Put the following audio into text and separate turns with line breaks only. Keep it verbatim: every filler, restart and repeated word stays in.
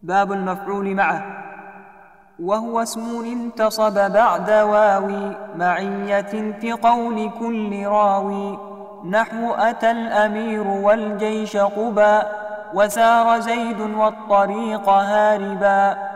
باب المفعول معه، وهو اسم انتصب بعد واوي معية في قول كل راوي، نحو أتى الأمير والجيش قبا وسار زيد والطريق هاربا.